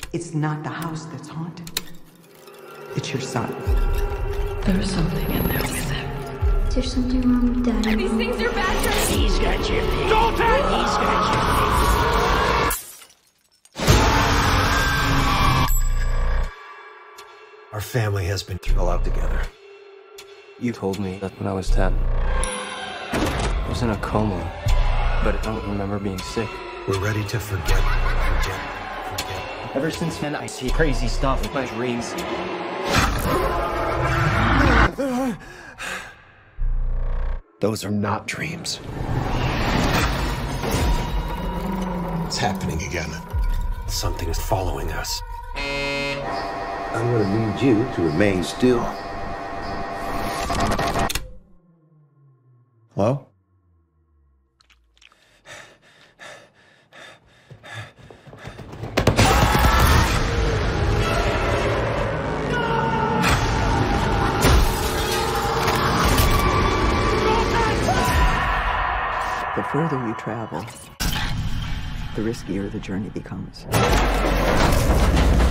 It's not the house that's haunted. It's your son. There's something in there with him. Is there something wrong with Daddy? These things are bad for us. He's got your baby. Dalton! He's got your baby. Our family has been through a lot together. You told me that when I was 10. I was in a coma, but I don't remember being sick. We're ready to forget. Ever since then, I see crazy stuff in my dreams. Those are not dreams. It's happening again. Something is following us. I'm gonna need you to remain still. Hello? The further you travel, the riskier the journey becomes.